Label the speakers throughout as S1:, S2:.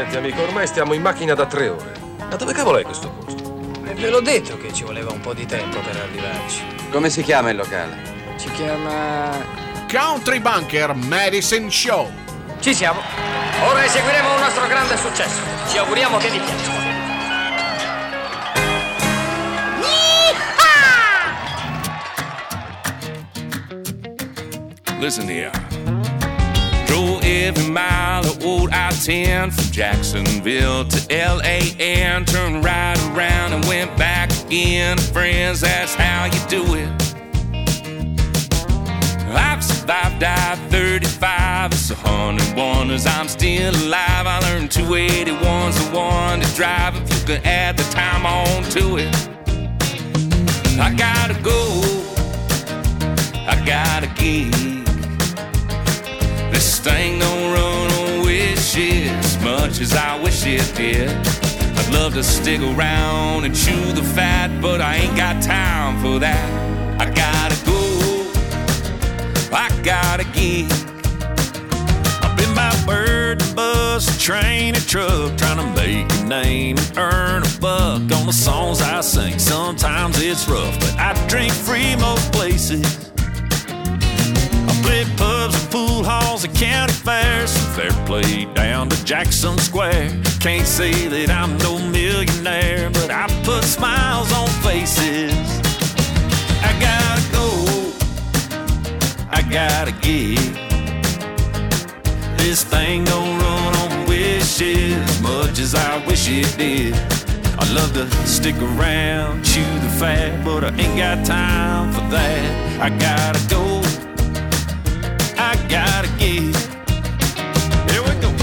S1: Senti amico, ormai stiamo in macchina da 3 ore. Ma dove cavolo è questo posto?
S2: Ve l'ho detto che ci voleva un po' di tempo per arrivarci.
S3: Come si chiama il locale?
S2: Si chiama...
S4: Country Bunker Medicine Show.
S2: Ci siamo. Ora eseguiremo un nostro grande successo. Ci auguriamo che vi piaccia.
S5: Listen here. Drove every mile of old I-10 from Jacksonville to L.A. and turned right around and went back again. Friends, that's how you do it. I've survived I-35, it's 100 wonders I'm still alive. I learned 281's the one to drive if you can add the time on to it. I gotta go, I gotta give. This thing don't run on wishes as much as I wish it did. I'd love to stick around and chew the fat, but I ain't got time for that. I gotta go, I gotta give. I've been by bird, bus, train, and truck, trying to make a name and earn a buck on the songs I sing. Sometimes it's rough, but I drink free most places. Play pubs and pool halls and county fairs, from fair play down to Jackson Square. Can't say that I'm no millionaire, but I put smiles on faces. I gotta go, I gotta give. This thing don't run on wishes as much as I wish it did. I'd love to stick around, chew the fat, but I ain't got time for that. I gotta go, I gotta give. Here we go.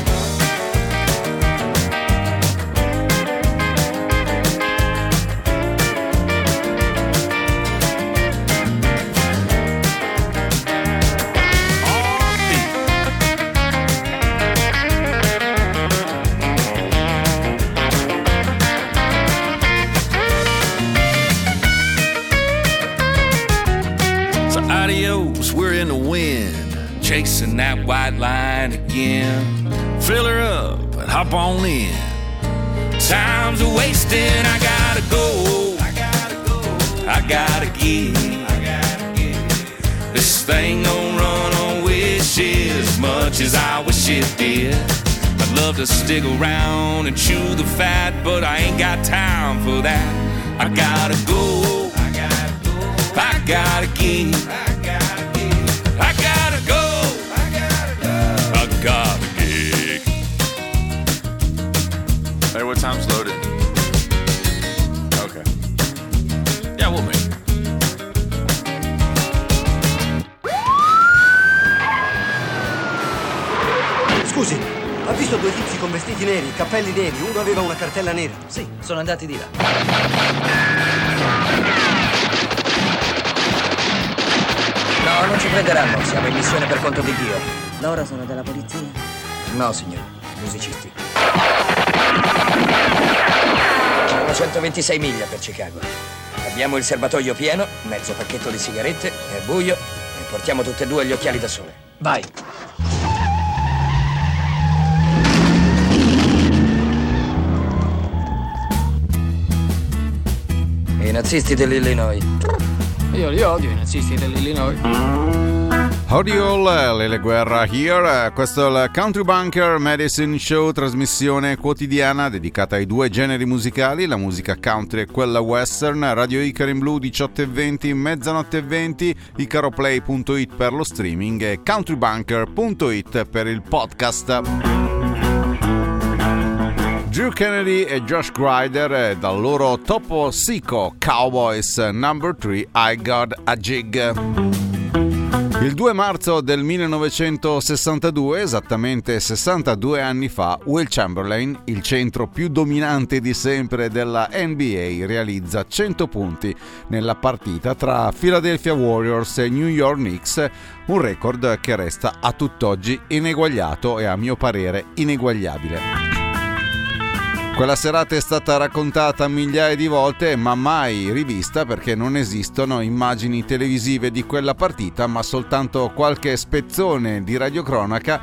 S5: So adios, we're in the wind, chasing that white line again. Fill her up and hop on in. Time's a wasting, I gotta go, I gotta go, I gotta give. This thing don't run on wishes as much as I wish it did. I'd love to stick around and chew the fat, but I ain't got time for that. I gotta go, I gotta go, I gotta give. I gotta go, I gotta go, I gotta gig.
S6: Hey, what time's loaded? Okay. Yeah, we'll make it.
S7: Scusi, ha visto due tizi con vestiti neri, cappelli neri, uno aveva una cartella nera?
S2: Sì, sono andati di là. No, non ci prenderanno, siamo in missione per conto di Dio.
S8: Loro sono della polizia?
S2: No, signore, musicisti. Sono 126 miglia per Chicago. Abbiamo il serbatoio pieno, mezzo pacchetto di sigarette, è buio e portiamo tutte e due gli occhiali da sole. Vai! I nazisti dell'Illinois. Io li odio, i nazisti dell'Illinois.
S9: Audio Lele Guerra here, questo è il Country Bunker Medicine Show, trasmissione quotidiana dedicata ai due generi musicali, la musica country e quella western. Radio Icaro in Blu 18:20, mezzanotte e 20, icaroplay.it per lo streaming e countrybunker.it per il podcast. Drew Kennedy e Josh Grider dal loro Topo Sico Cowboys Number 3 I Got a Jig. Il 2 marzo del 1962, esattamente 62 anni fa, Will Chamberlain, il centro più dominante di sempre della NBA, realizza 100 punti nella partita tra Philadelphia Warriors e New York Knicks, un record che resta a tutt'oggi ineguagliato e a mio parere ineguagliabile. Quella serata è stata raccontata migliaia di volte, ma mai rivista, perché non esistono immagini televisive di quella partita, ma soltanto qualche spezzone di radiocronaca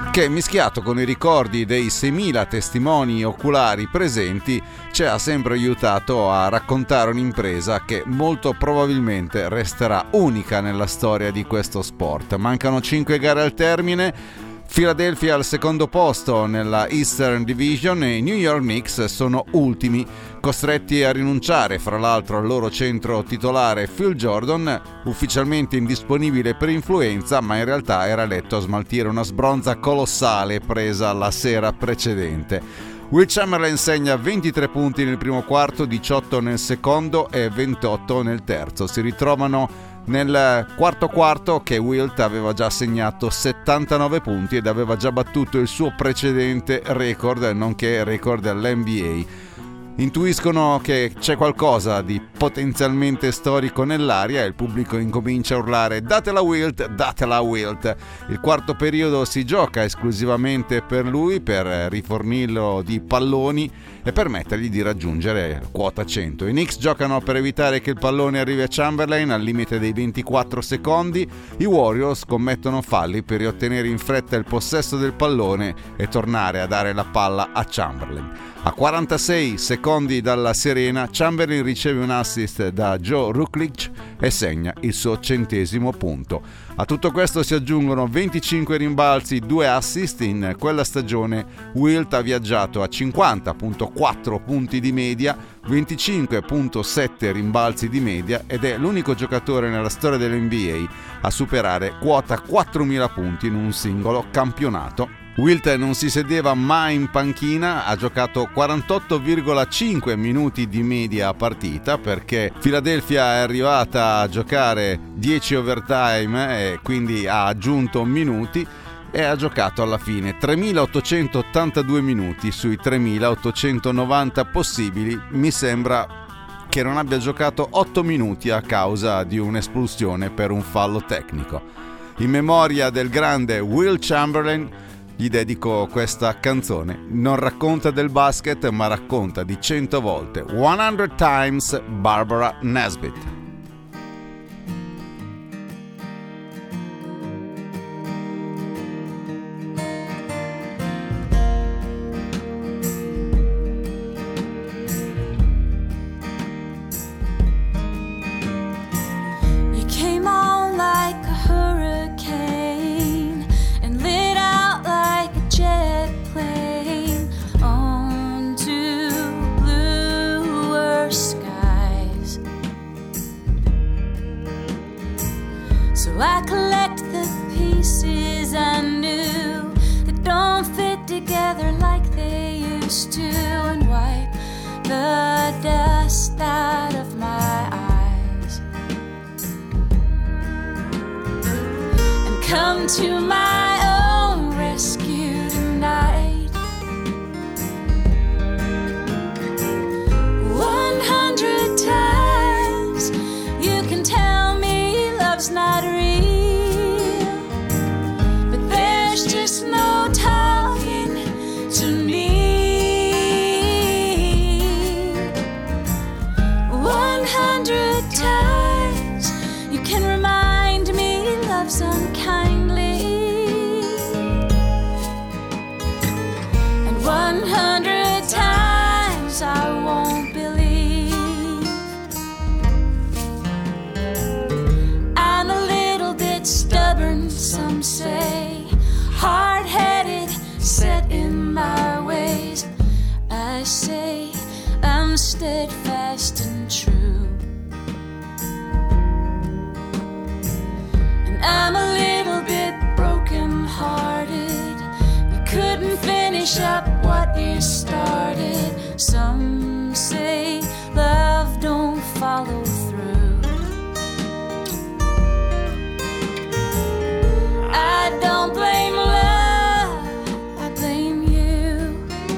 S9: che, mischiato con i ricordi dei 6.000 testimoni oculari presenti, ci ha sempre aiutato a raccontare un'impresa che molto probabilmente resterà unica nella storia di questo sport. Mancano 5 gare al termine. Philadelphia al secondo posto nella Eastern Division e i New York Knicks sono ultimi, costretti a rinunciare fra l'altro al loro centro titolare Phil Jordan, ufficialmente indisponibile per influenza, ma in realtà era letto a smaltire una sbronza colossale presa la sera precedente. Will Chamberlain segna 23 punti nel primo quarto, 18 nel secondo e 28 nel terzo. Si ritrovano nel quarto che Wilt aveva già segnato 79 punti ed aveva già battuto il suo precedente record, nonché record dell'NBA. Intuiscono che c'è qualcosa di potenzialmente storico nell'aria e il pubblico incomincia a urlare datela Wilt, datela Wilt. Il quarto periodo si gioca esclusivamente per lui, per rifornirlo di palloni e permettergli di raggiungere quota 100. I Knicks giocano per evitare che il pallone arrivi a Chamberlain al limite dei 24 secondi. I Warriors commettono falli per riottenere in fretta il possesso del pallone e tornare a dare la palla a Chamberlain. A 46 secondi dalla sirena, Chamberlain riceve un assist da Joe Ruklic e segna il suo 100° punto. A tutto questo si aggiungono 25 rimbalzi, 2 assist. In quella stagione Wilt ha viaggiato a 50.4 punti di media, 25.7 rimbalzi di media ed è l'unico giocatore nella storia dell'NBA a superare quota 4.000 punti in un singolo campionato. Wilt non si sedeva mai in panchina, ha giocato 48,5 minuti di media a partita perché Philadelphia è arrivata a giocare 10 overtime e quindi ha aggiunto minuti e ha giocato alla fine 3.882 minuti sui 3.890 possibili. Mi sembra che non abbia giocato 8 minuti a causa di un'espulsione per un fallo tecnico. In memoria del grande Will Chamberlain gli dedico questa canzone. Non racconta del basket, ma racconta di 100 volte 100 Times Barbara Nesbitt.
S3: I collect the pieces I knew that don't fit together like they used to, and wipe the dust out of my eyes and come to my own rescue tonight. 100 times you can tell me love's not real, just no talking to me. 100 times you can remind me love's unkindly, and 100 times I won't believe. I'm a little bit stubborn, some say, hard-headed, set in my ways. I say I'm steadfast and true, and I'm a little bit broken-hearted. You couldn't finish up what you started. Some say love don't follow through. I don't blame love, I blame you.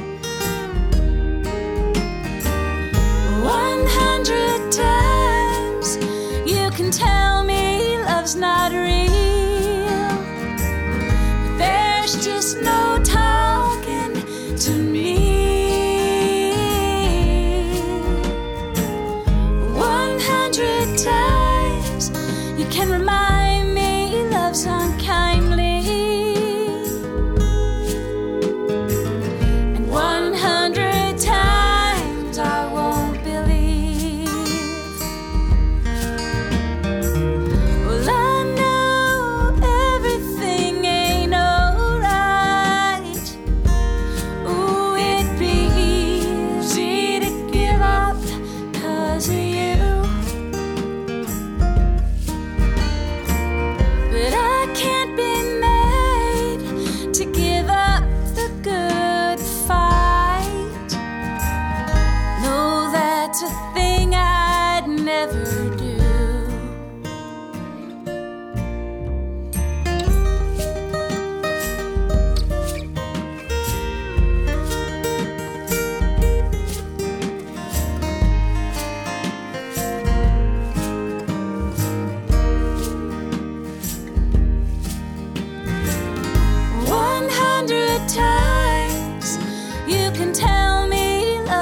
S3: 100 times you can tell me love's not real, but there's just no talking to me. 100 times you can remind me love's unkindly,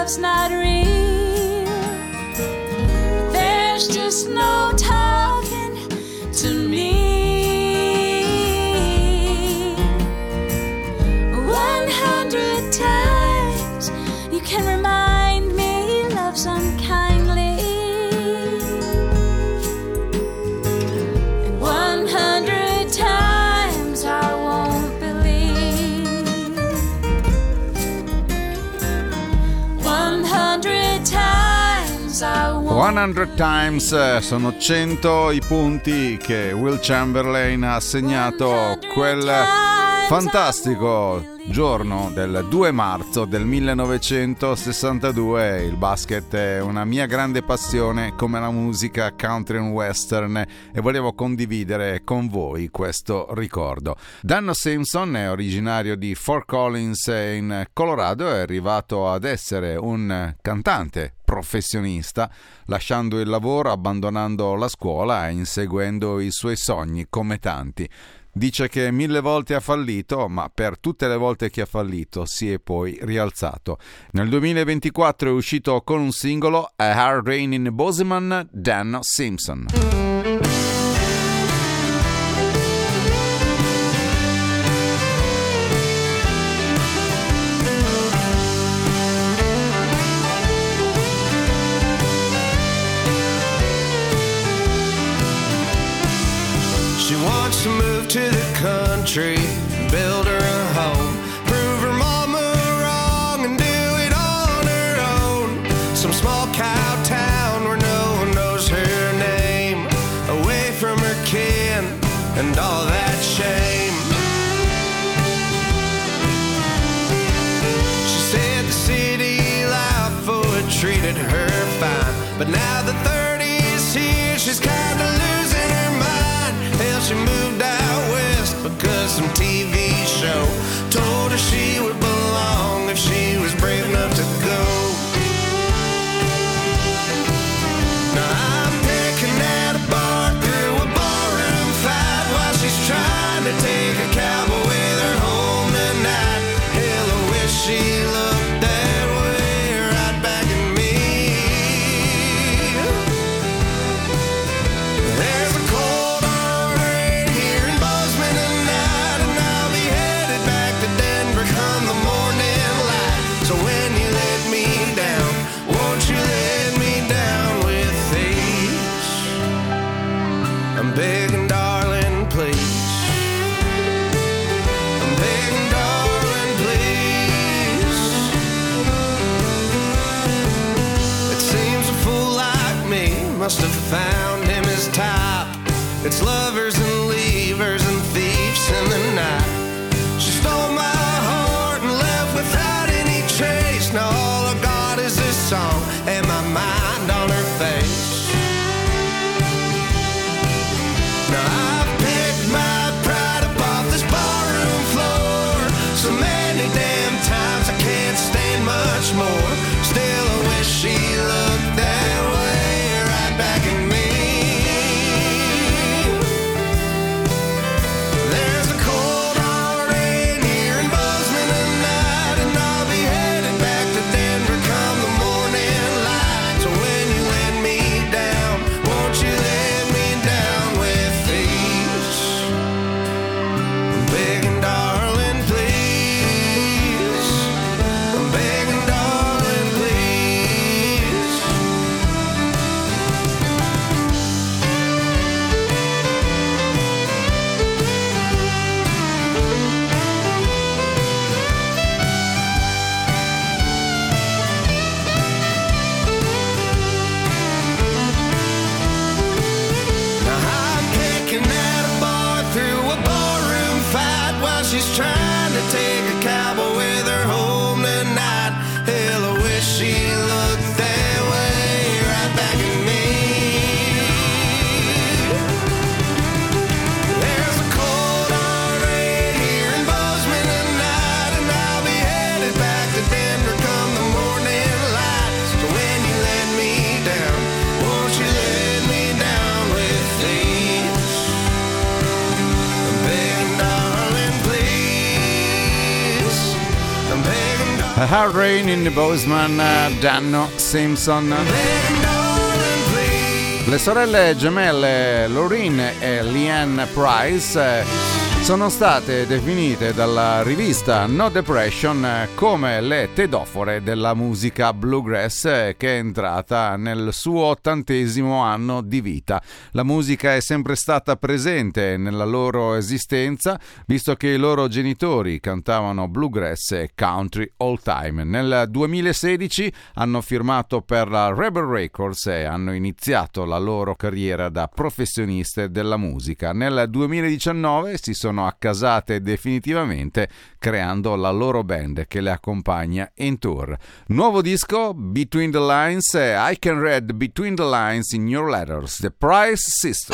S3: love's not real. There's just no talking to me. 100 times you can remind me love's unkindly, and 100 times I won't believe. 100 times I won't
S9: 100 times sono 100 i punti che Will Chamberlain ha assegnato quel fantastico giorno del 2 marzo del 1962. Il basket è una mia grande passione, come la musica country and western, e volevo condividere con voi questo ricordo. Dan Simpson è originario di Fort Collins in Colorado, è arrivato ad essere un cantante professionista, lasciando il lavoro, abbandonando la scuola e inseguendo i suoi sogni come tanti. Dice che 1000 volte ha fallito, ma per tutte le volte che ha fallito si è poi rialzato. Nel 2024 è uscito con un singolo, A Hard Rain in Bozeman, Dan Simpson.
S8: She wants to move to the country, build her a home, prove her mama wrong and do it on her own. Some small cow town where no one knows her name, away from her kin and all that shame. She said the city life, oh, it treated her fine, but now the 30's here, she's kinda losing her mind. Hell, she moved out west because some TV show told her she would belong if she was brave enough to go. Now I'm picking at a bar through a barroom fight while she's trying to take a cowboy with her home tonight. Hell, I wish she looked that way right back at me. There's a cold hard rain here in Bozeman tonight, and I'll be headed back to Denver come the morning light. So when you let me down, won't you let me down with ease? I'm begging, darling, please. I'm begging, darling, please. It seems a fool like me must have found him his type. It's lovers and leavers and thieves in the night. She stole my heart and left without any trace. Now all I got is this song and my mind on her face. Now I've picked my pride up off this barroom floor so many damn times I can't stand much more. Still I wish she looked that way right back at me. There's a cold hard rain here in Bozeman tonight, and I'll be headed back to Denver come the morning light. So when you let me down, won't you let me down with ease? I'm begging, darling, please. I'm begging, darling,
S9: A Hard Rain in the Bozeman, Danno Simpson. Le sorelle gemelle Laureen e Leanne Price sono state definite dalla rivista No Depression come le tedofore della musica bluegrass, che è entrata nel suo 80° anno di vita. La musica è sempre stata presente nella loro esistenza, visto che i loro genitori cantavano bluegrass e country all time. Nel 2016 hanno firmato per la Rebel Records e hanno iniziato la loro carriera da professioniste della musica. Nel 2019 si sono accasate definitivamente, creando la loro band che le accompagna in tour. Nuovo disco, Between the Lines, I Can Read Between the Lines in Your Letters, The Price Sister.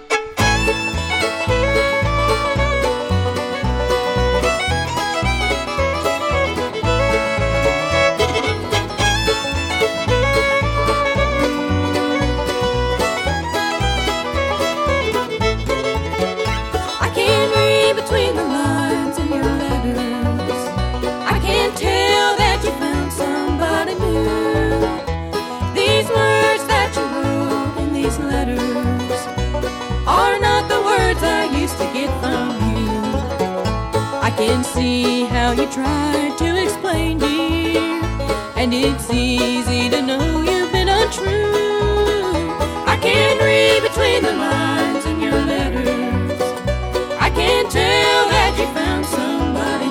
S10: I can see how you try to explain, dear, and it's easy to know you've been untrue. I can read between the lines in your letters. I can tell that you found somebody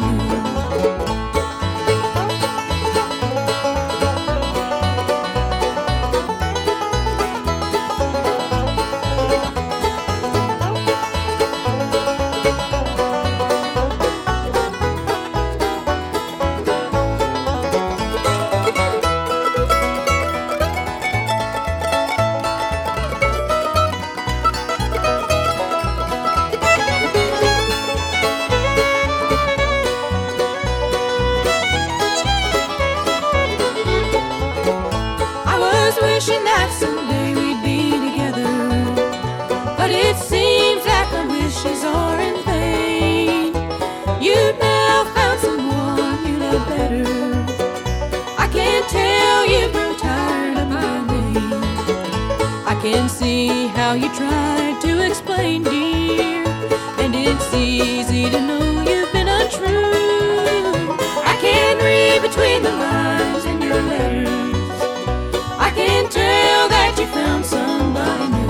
S10: can see how you tried to explain, dear, and it's easy to know you've been untrue. I can read between the lines in your letters. I can tell that you found somebody new.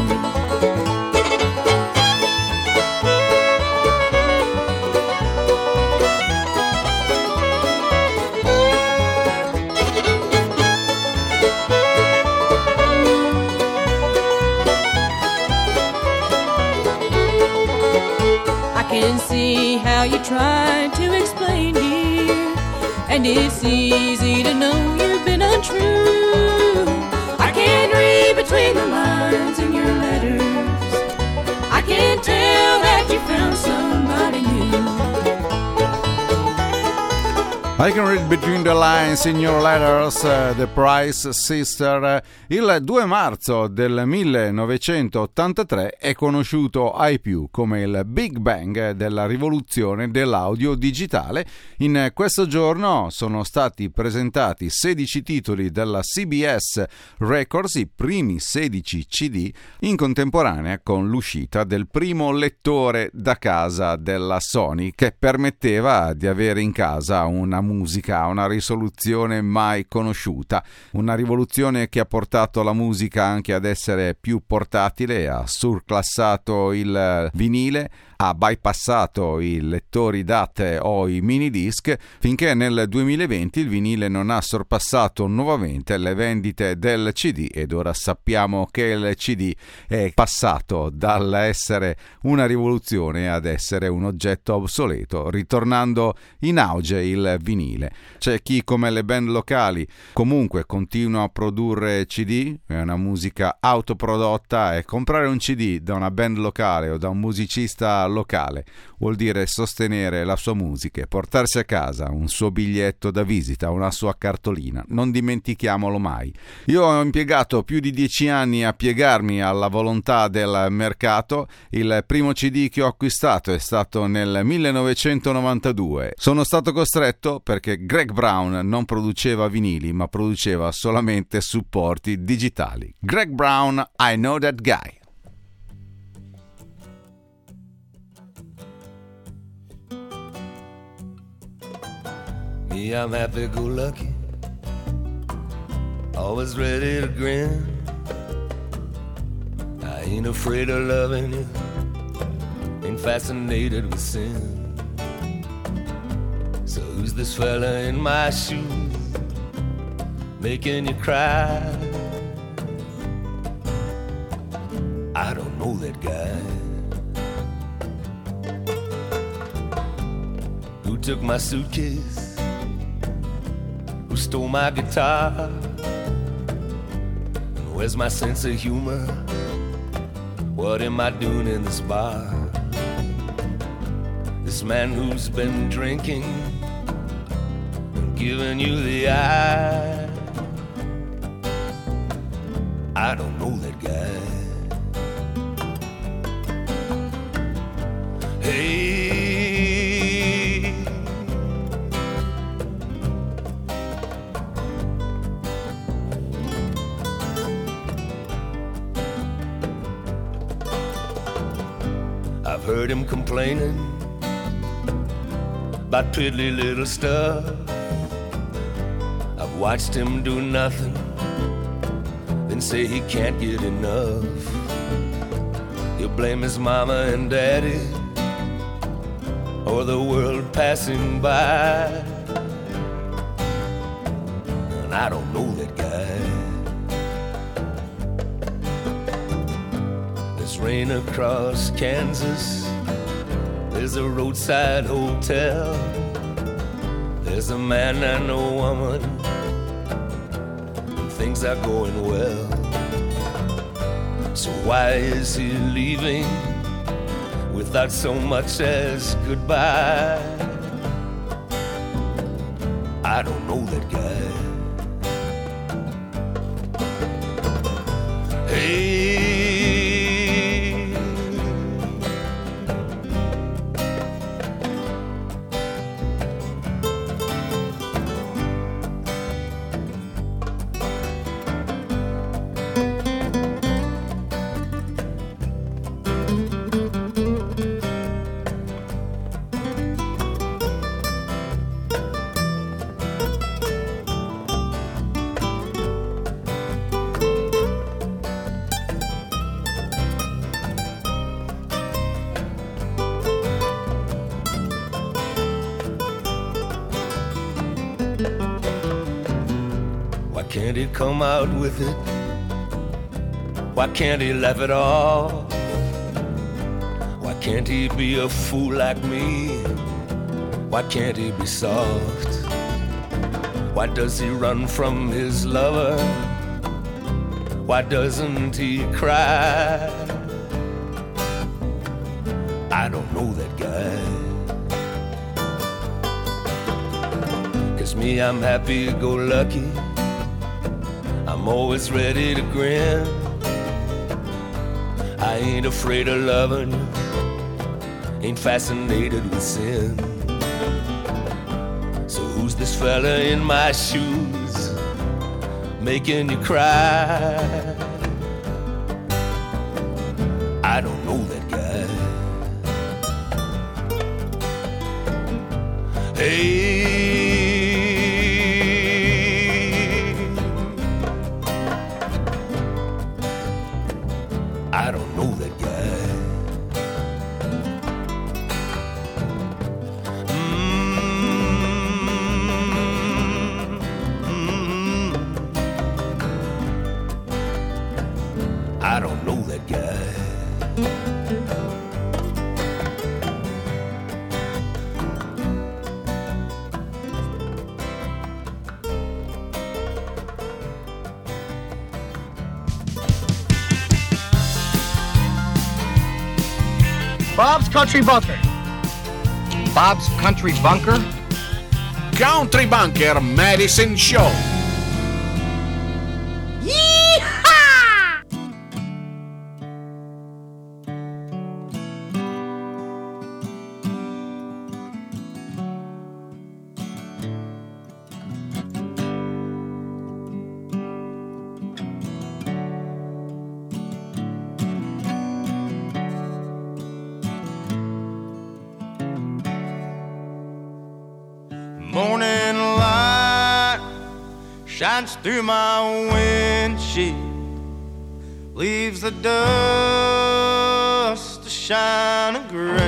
S10: I can see how you try to explain, dear, and it's easy to know you've been untrue. I can read between the lines in your letters. I can tell that you found somebody new.
S9: I Can Read Between the Lines in Your Letters, The Price Sister. Il 2 marzo del 1983 è conosciuto ai più come il Big Bang della rivoluzione dell'audio digitale. In questo giorno sono stati presentati 16 titoli della CBS Records, i primi 16 CD, in contemporanea con l'uscita del primo lettore da casa della Sony, che permetteva di avere in casa una musica a una risoluzione mai conosciuta, una rivoluzione che ha portato la musica anche ad essere più portatile, ha surclassato il vinile, ha bypassato i lettori DAT o i mini disc, finché nel 2020 il vinile non ha sorpassato nuovamente le vendite del CD, ed ora sappiamo che il CD è passato dall'essere una rivoluzione ad essere un oggetto obsoleto, ritornando in auge il vinile. C'è chi, come le band locali, comunque continua a produrre CD, è una musica autoprodotta, e comprare un CD da una band locale o da un musicista locale, vuol dire sostenere la sua musica e portarsi a casa un suo biglietto da visita, una sua cartolina. Non dimentichiamolo mai. Io ho impiegato più di 10 anni a piegarmi alla volontà del mercato. Il primo CD che ho acquistato è stato nel 1992. Sono stato costretto perché Greg Brown non produceva vinili, ma produceva solamente supporti digitali. Greg Brown, I Know That Guy.
S11: Me, I'm happy-go-lucky, always ready to grin. I ain't afraid of loving you, ain't fascinated with sin. So who's this fella in my shoes, making you cry? I don't know that guy. Who took my suitcase? Who stole my guitar? And where's my sense of humor? What am I doing in this bar? This man who's been drinking and giving you the eye. I don't know that guy. Hey, I've heard him complaining about piddly little stuff. I've watched him do nothing, then say he can't get enough. He'll blame his mama and daddy or the world passing by. And I don't know that guy. There's rain across Kansas, there's a roadside hotel, there's a man and a woman, and things are going well. So why is he leaving without so much as goodbye? I don't know that guy. Hey, can't he come out with it? Why can't he laugh it off? Why can't he be a fool like me? Why can't he be soft? Why does he run from his lover? Why doesn't he cry? I don't know that guy. 'Cause me, I'm happy-go-lucky, I'm always ready to grin. I ain't afraid of loving you, ain't fascinated with sin. So who's this fella in my shoes, making you cry? I don't know that guy. Hey, I don't know that guy. I don't know that guy.
S12: Bob's Country Bunker.
S2: Bob's Country Bunker?
S4: Country Bunker Medicine Show.
S13: Morning light shines through my windshield, leaves the dust to shine gray.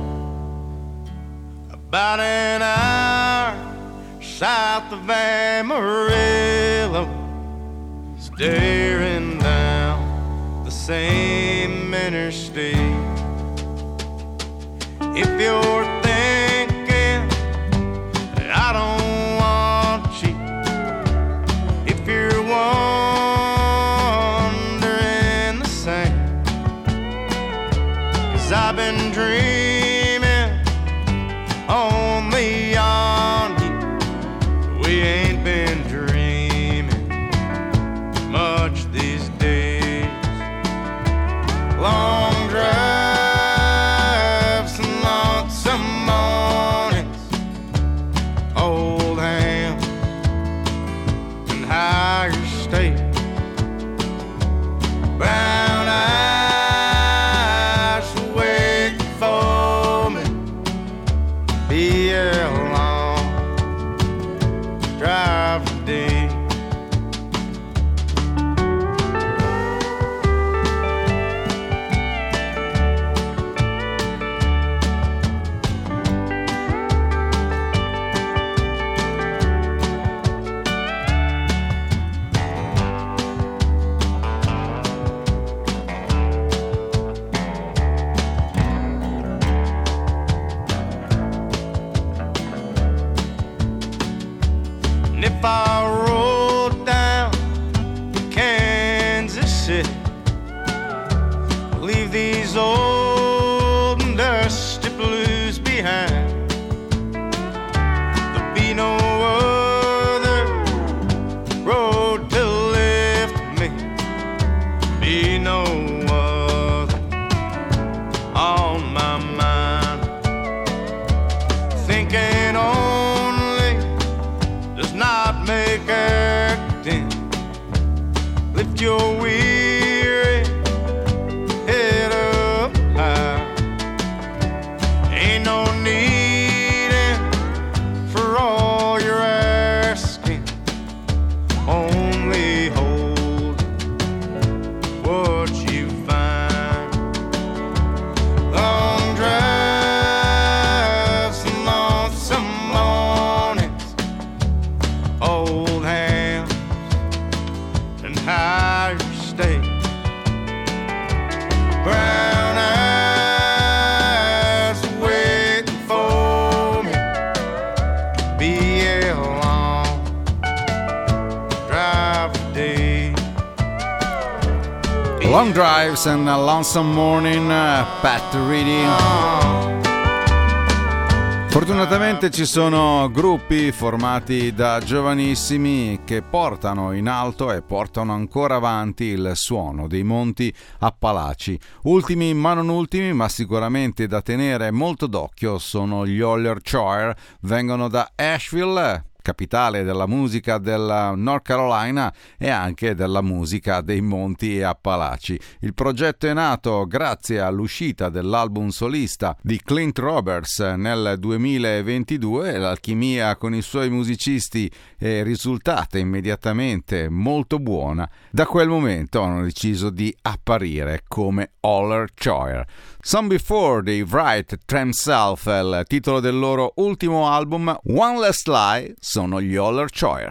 S13: About an hour south of Amarillo, staring down the same interstate. If you're thinking I don't want you, if you're wondering the same, 'cause I've been dreaming only on you. We ain't been dreaming much these days. Long drives and lonesome mornings, old hands and higher state, brown eyes waiting for me. Be a long drive today. And if I roll down to Kansas City, leave these old and dusty blues behind, there'll be no other road to lift me, be no other on my mind. Thinking only does not make acting. Lift your weary head up high. Ain't no needing for all you're asking. Only hold what you find. Long drives and lonesome mornings, old hands and higher state, brown eyes waiting for me. Be a long drive today.
S9: Long Drives and a Lonesome Morning, Pat Reedy. Fortunatamente ci sono gruppi formati da giovanissimi che portano in alto e portano ancora avanti il suono dei Monti Appalachi. Ultimi ma non ultimi, ma sicuramente da tenere molto d'occhio, sono gli Holler Choir, vengono da Asheville, capitale della musica del North Carolina e anche della musica dei Monti Appalachi. Il progetto è nato grazie all'uscita dell'album solista di Clint Roberts nel 2022 e l'alchimia con i suoi musicisti è risultata immediatamente molto buona. Da quel momento hanno deciso di apparire come Holler Choir. Some Before dei Wright Themselves, il titolo del loro ultimo album. One Last Lie sono gli Holler Choir.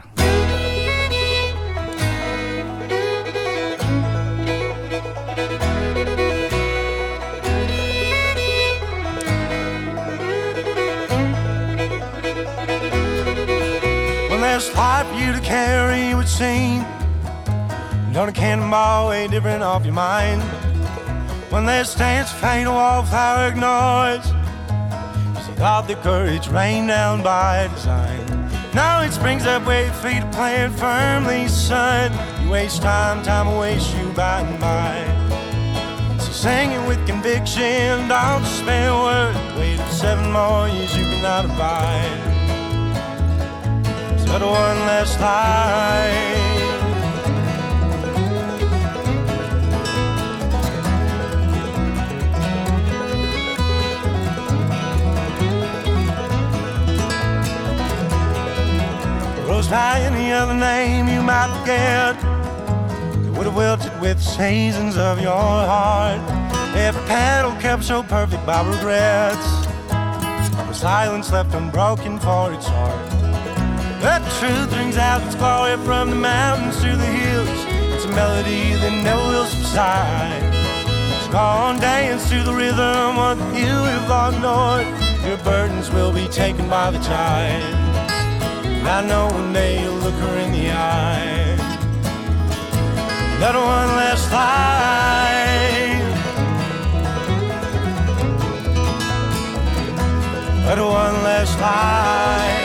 S13: One last lie for you to carry would seem done a cannonball way different off your mind. when their stance faint, a wallflower ignores. She thought the courage rained down by design. Now it springs up where your feet are planted firmly, son. You waste time, time will waste you by and by. So sing it with conviction, don't spare a word. Wait 7 more years, you cannot abide. So one last lie. Rose by any other name you might forget, it would have wilted with seasons of your heart. Every petal kept so perfect by regrets, the silence left unbroken for its heart. The truth rings out its glory from the mountains to the hills. It's a melody that never will subside. So go on, dance to the rhythm of the you have long ignored. Your burdens will be taken by the tide. I know one day you'll look her in the eye. Not one last lie. Not one last lie.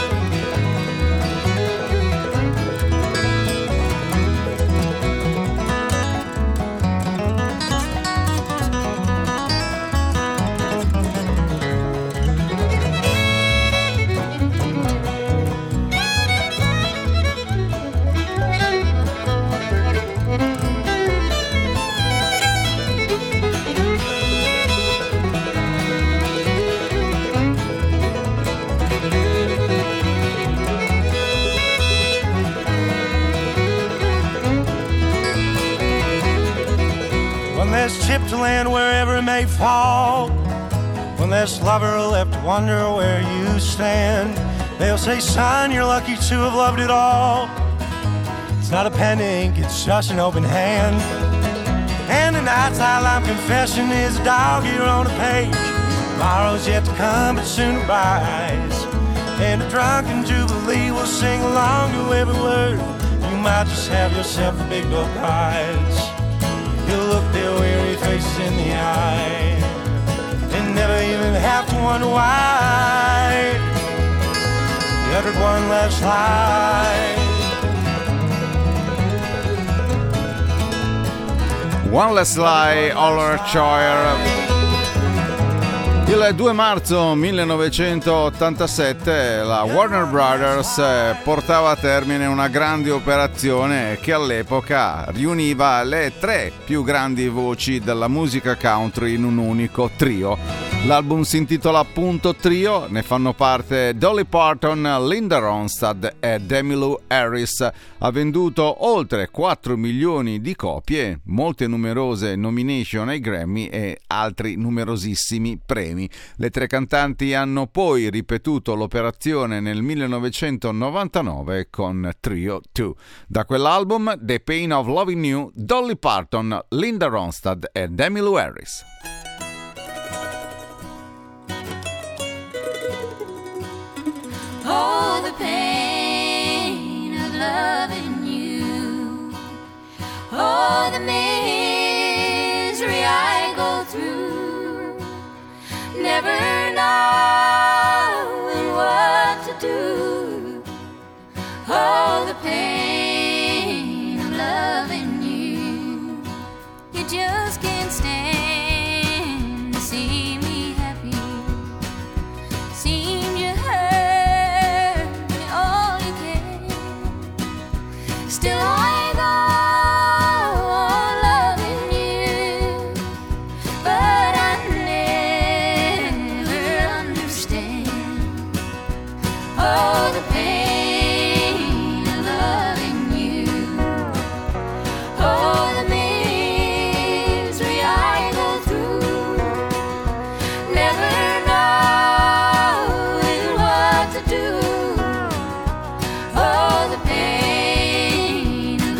S13: There's chip to land wherever it may fall. When there's lover left to wonder where you stand, they'll say, son, you're lucky to have loved it all. It's not a pen to ink, it's just an open hand. And tonight's highlight confession is a dog here on a page. Tomorrow's yet to come, but soon it rise. And a drunken jubilee will sing along to every word. You might just have yourself a big old prize. You'll look their weary faces in the eye and never even have to wonder why you uttered one last lie.
S9: One Last Lie, Oliver Choir. Il 2 marzo 1987 la Warner Brothers portava a termine una grande operazione che all'epoca riuniva le 3 più grandi voci della musica country in un unico trio. L'album si intitola appunto Trio, ne fanno parte Dolly Parton, Linda Ronstadt e Emmylou Harris. Ha venduto oltre 4 milioni di copie, molte numerose nomination ai Grammy e altri numerosissimi premi. Le 3 cantanti hanno poi ripetuto l'operazione nel 1999 con Trio 2. Da quell'album, The Pain of Loving You, Dolly Parton, Linda Ronstadt e Emmylou Harris.
S3: Oh, the pain of loving you. Oh, the misery I go through, never knowing what to do. Oh, the pain of loving you. You just can't stand to see me happy. Seem you hurt me all you can. Still I go on loving you, but I never understand. Oh, the pain of loving you. Oh, the misery I go through, never knowing what to do. Oh, the pain of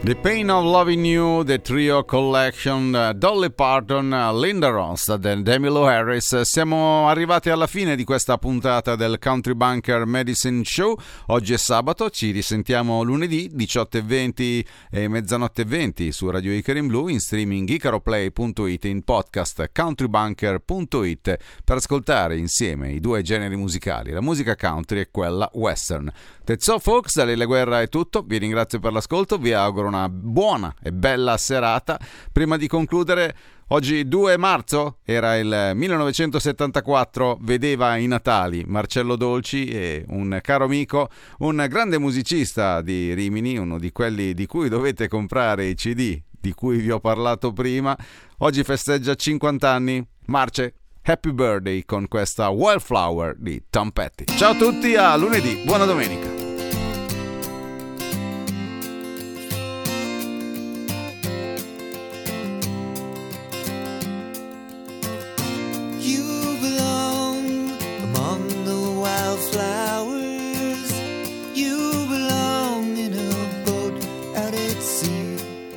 S9: The Pain of Loving You, The Trio Collection, Dolly Parton, Linda Ronstadt e Emmylou Harris. Siamo arrivati alla fine di questa puntata del Country Bunker Medicine Show. Oggi è sabato, ci risentiamo lunedì 18:20 e mezzanotte 20 su Radio Icaro in Blu, in streaming icaroplay.it, in podcast countrybunker.it, per ascoltare insieme i due generi musicali, la musica country e quella western. That's all folks, da Lele Guerra è tutto, vi ringrazio per l'ascolto, vi auguro una buona e bella serata. Prima di concludere, oggi 2 marzo era il 1974, vedeva i Natali Marcello Dolci, e un caro amico, un grande musicista di Rimini, uno di quelli di cui dovete comprare i CD di cui vi ho parlato prima, oggi festeggia 50 anni. Marce, happy birthday con questa Wildflower di Tom Petty. Ciao a tutti, a lunedì, buona domenica.
S8: You belong among the wildflowers. You belong in a boat out at sea.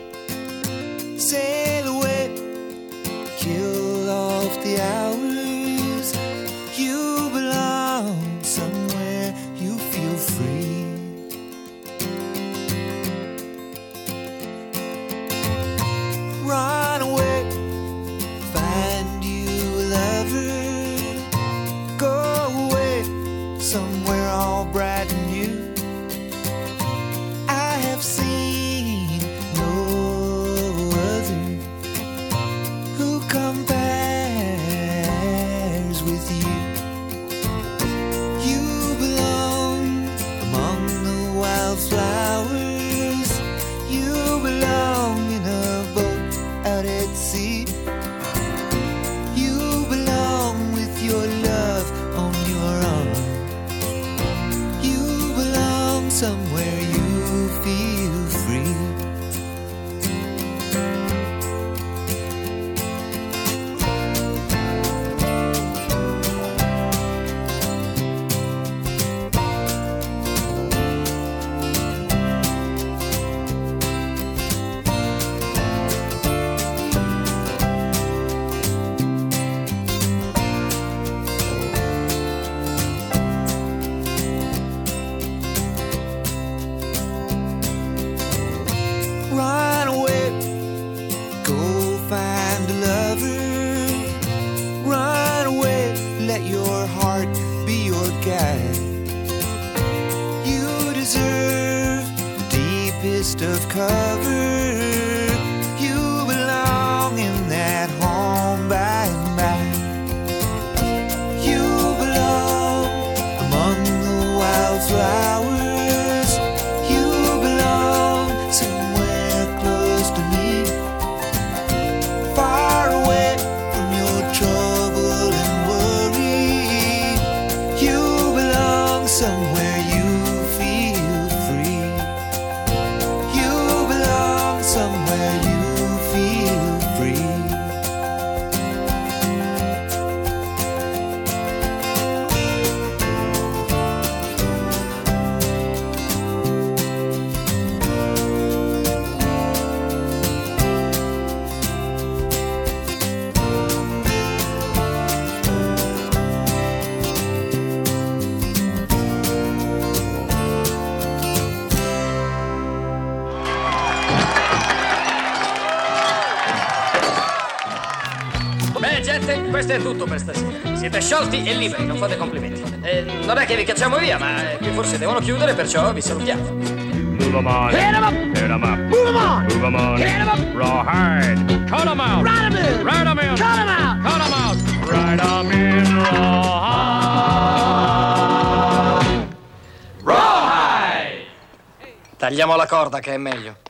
S8: Sail away, kill off the hours. You belong somewhere you feel free. Run away, find you a lover. Go away, somewhere all bright and new. I have seen no other who compares with you. You belong among the wildflowers. You belong in a boat out at sea. You belong with your love on your arm. You belong somewhere you feel free. Run away, go find a lover. Run away, let your heart be your guide. You deserve the deepest of cover. You belong in that home by and by. You belong among the wildflowers. You belong somewhere close to me, far away from your trouble and worry. You belong somewhere you feel free. You belong somewhere you feel free.
S2: Beh, gente, questo è tutto per stasera. Siete sciolti e liberi, non fate complimenti. Non è che vi cacciamo via, ma qui forse devono chiudere, perciò vi salutiamo.
S12: Move 'em on.
S2: Hit 'em up.
S12: Hit 'em up.
S2: Move 'em on.
S12: Move 'em on.
S2: Hit 'em up.
S12: Rawhide. Cut 'em out.
S2: Ride 'em in.
S12: Ride 'em in.
S2: Cut 'em out.
S12: Cut 'em out. Ride 'em in rawhide.
S2: Rawhide! Tagliamo la corda che è meglio.